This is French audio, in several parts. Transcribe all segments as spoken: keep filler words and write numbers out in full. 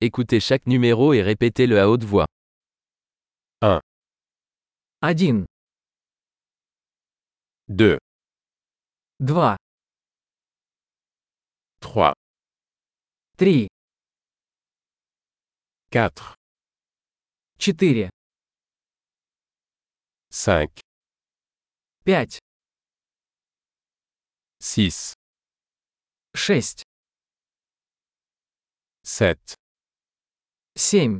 Écoutez chaque numéro et répétez-le à haute voix. Один, deux, два, trois, три, quatre, четыре, cinq, пять, six, шесть, sept, семь,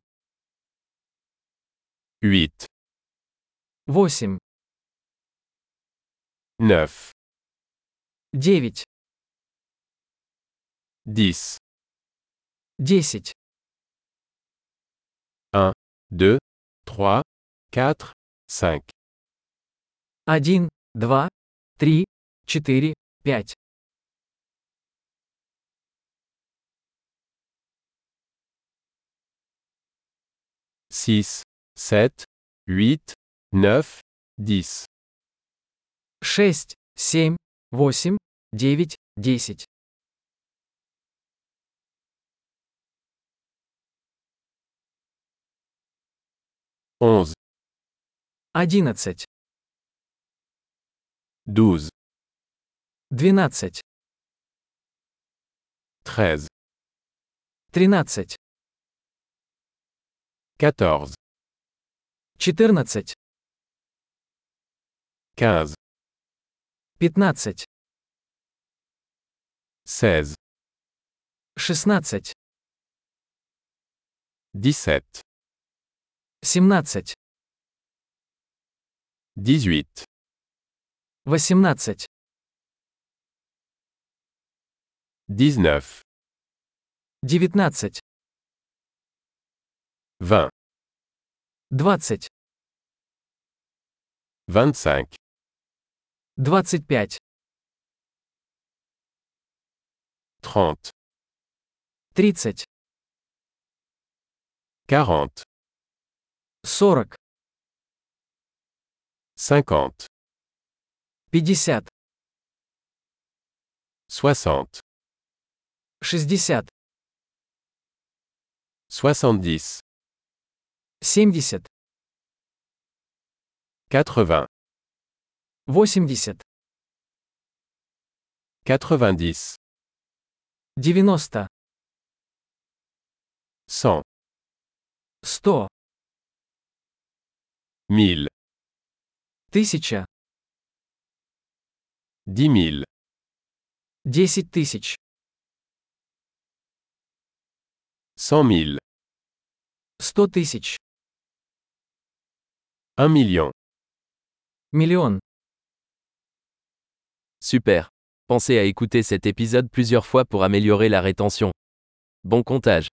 huit, восемь, neuf, девять, dix, десять, deux, trois, quatre, cinq, один, два, три, четыре, пять, six, sept, huit, neuf, dix, шесть, семь, восемь, девять, десять, onze, одиннадцать, douze, двенадцать, treize, тринадцать, quatorze, четырнадцать, quinze, пятнадцать, seize, шестнадцать, dix-sept, семнадцать, dix-huit, восемнадцать, dix-neuf, девятнадцать, vingt, двадцать, vingt-cinq, двадцать пять, trente, тридцать, quarante, сорок, cinquante, пятьдесят, soixante, шестьдесят, soixante-dix, семьдесят, quatre-vingts, восемьдесят, quatre-vingt-dix, девяносто, cent, сто, mille, тысяча, dix mille, десять тысяч, cent mille, сто тысяч, un million. миллион. Super. Pensez à écouter cet épisode plusieurs fois pour améliorer la rétention. Bon comptage.